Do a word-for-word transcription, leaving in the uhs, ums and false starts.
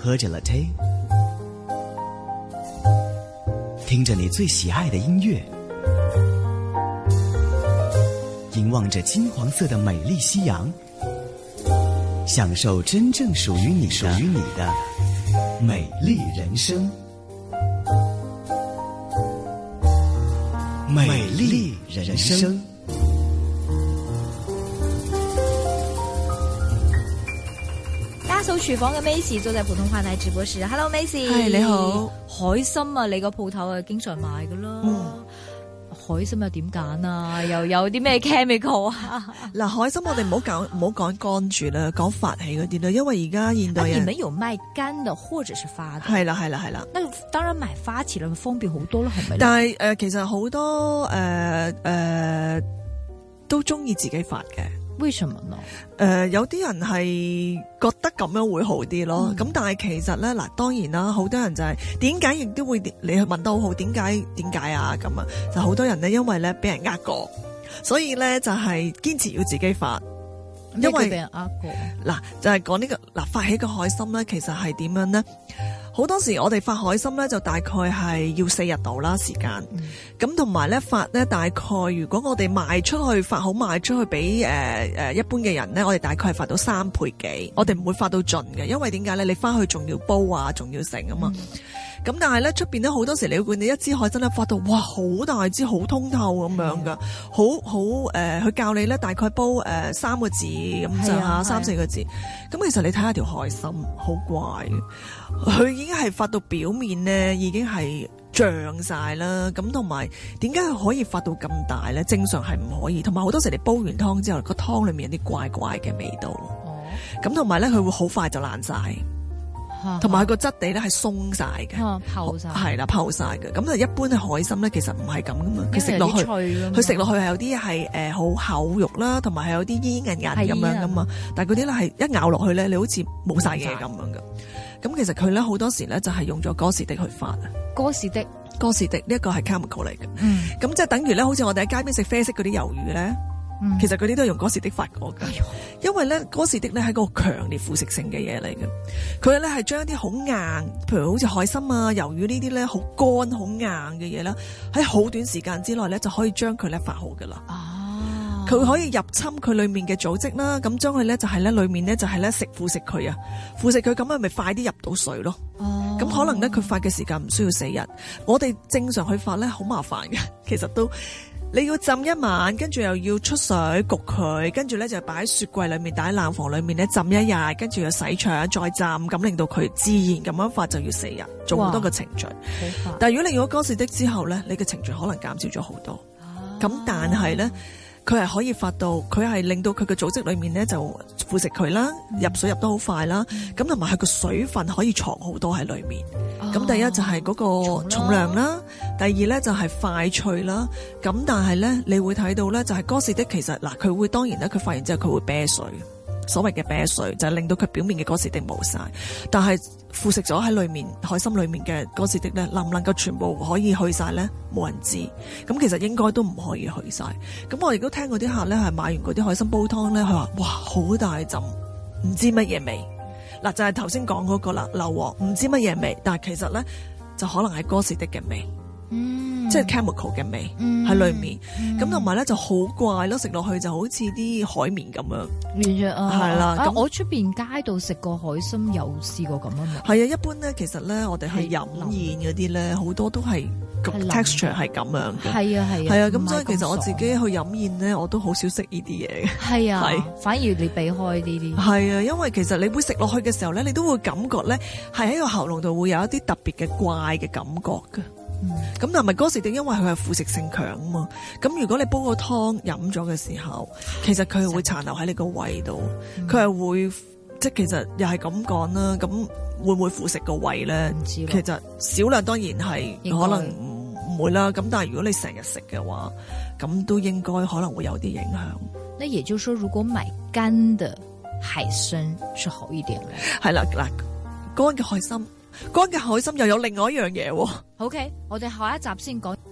喝着 latte， 聽着你最喜愛的音樂，凝望着金黃色的美麗夕陽，享受真正屬於你屬於你的美麗人生。美麗人生。 家嫂廚房嘅 Macy 坐在普通話台直播室。Hello Macy， 係你好。 海參啊，你個鋪頭啊經常買噶啦。嗯，海參又點揀啊？又有啲咩 chemical 啊？ 嗱，海參我哋唔好講唔好講乾住啦，講發起嗰啲啦，因為而家現代人。 啊，你們有賣乾的或者是發的？ 係啦係啦係啦。 那當然買發起來方便好多啦，係咪？ 但係誒、呃，其實好多誒誒、呃呃、都中意自己發嘅。 為什麼呢？ 誒、呃，有啲人係覺得咁樣會好啲咯。咁、嗯、但係其實咧，嗱，當然啦，好多人就係點解亦都會你去問得好好，點解點解啊？咁啊，就好多人咧，因為咧俾人呃過，所以咧就係堅持要自己發。因為俾人呃過，嗱就係講呢個嗱發起個海參咧，其實係點樣咧？好多時我哋發海參咧，就大概係要四日度啦時間。咁同埋咧發咧，大概如果我哋賣出去發好賣出去俾誒誒一般嘅人咧，我哋大概係發到三倍幾。我哋唔會發到盡嘅，因為點解咧？你翻去仲要煲啊，仲要成啊嘛。咁、嗯、但係咧出邊咧好多時你會見你一支海參咧發到哇好大支好通透咁樣噶，好好誒，佢、呃、教你咧大概煲誒、呃、三個字咁就吓三四個字。咁其實你睇下條海參好怪嘅，佢已經係發到表面咧，已經係脹晒啦。咁同埋點解佢可以發到咁大咧？正常係唔可以。同埋好多時你煲完湯之後，個湯裏面有啲怪怪嘅味道。哦。咁同埋咧，佢會好快就爛晒。同埋佢個質地咧係鬆晒嘅， 泡晒係啦，泡晒嘅。咁啊，一般嘅海參咧，其實唔係咁噶嘛。佢食落去，佢食落去係有啲係誒好厚肉啦，同埋係有啲煙韌韌咁樣噶嘛。但係嗰啲咧係一咬落去咧，你好似冇晒嘢咁樣噶。咁其實佢咧好多時咧就係用咗哥士的去發啊。 哥士的， 哥士的呢一個係 chemical 嚟嘅。嗯。咁即係等於咧，好似我哋喺街邊食啡色嗰啲魷魚咧。其實佢啲都係用哥士的發過噶，因為咧哥士的咧係一個強烈腐蝕性嘅嘢嚟嘅，佢咧係將一啲好硬，譬如好似海參啊、魷魚呢啲咧好乾好硬嘅嘢啦，喺好短時間之內咧就可以將佢咧發好噶啦。哦，佢可以入侵佢裏面嘅組織啦，咁將佢咧就係咧裏面咧就係咧食腐蝕佢啊，腐蝕佢咁樣咪快啲入到水咯。哦，咁可能咧佢發嘅時間唔需要四日，我哋正常去發咧好麻煩嘅，其實都。你要浸一晚，跟住又要出水焗佢，跟住咧就擺喺雪櫃裏面，擺喺冷房裏面咧浸一日，跟住又洗腸再浸，咁令到佢自然咁樣發就要四日，做好多個程序。但係如果你用咗哥士的之後咧，你嘅程序可能減少咗好多。咁、啊、但係咧，佢係可以發到，佢係令到佢嘅組織裏面咧就腐蝕佢啦，入水入得好快啦。咁同埋佢個水分可以藏好多喺裏面。咁、哦、第一就係嗰個重量啦，第二咧就係快脆啦。咁但係咧，你會睇到咧，就係哥士的其實嗱，佢會當然咧，佢發完之後佢會啤水，所謂嘅啤水就係、是、令到佢表面嘅哥士的冇晒。但係腐蝕咗喺裏面海參裏面嘅哥士的咧，能唔能夠全部可以去晒咧？冇人知。咁其實應該都唔可以去晒。咁我亦都聽過啲客咧係買完嗰啲海參煲湯咧，佢話哇好大陣，唔知乜嘢味。嗱就係頭先講嗰個啦，硫磺唔知乜嘢味，但係其實咧就可能係哥士的嘅味，嗯，即係 chemical 嘅味喺裏面，咁同埋咧就好怪咯，食落去就好似啲海綿咁樣， 完全啊， 係啦。咁、啊、 我出邊街度食過海參，有試過咁啊嘛。 係啊，一般咧其實咧我哋去飲宴嗰啲咧，好多都係個 texture 係咁樣嘅。係啊係啊，係啊。咁所以其實我自己去飲宴咧，我都好少食呢啲嘢嘅。係啊，係反而你避開呢啲。係啊，因為其實你會食落去嘅時候咧，你都會感覺咧係喺個喉嚨度會有一啲特別嘅怪嘅感覺嘅。咁但係咪哥士的，因為佢係腐蝕性強啊嘛。咁如果你煲個湯飲咗嘅時候，其實佢係會殘留喺你個胃度，佢、嗯、係會即係其實又係咁講啦。咁會唔會腐蝕個胃咧？其實少量當然係可能唔唔會啦。咁但係如果你成日食嘅話，咁都應該可能會有啲影響。 那也就是說，如果買乾的海參是好一點嘅。 係啦，嗱，乾嘅海參。乾嘅海參又有另外一樣嘢喎。 OK，我哋下一集先講。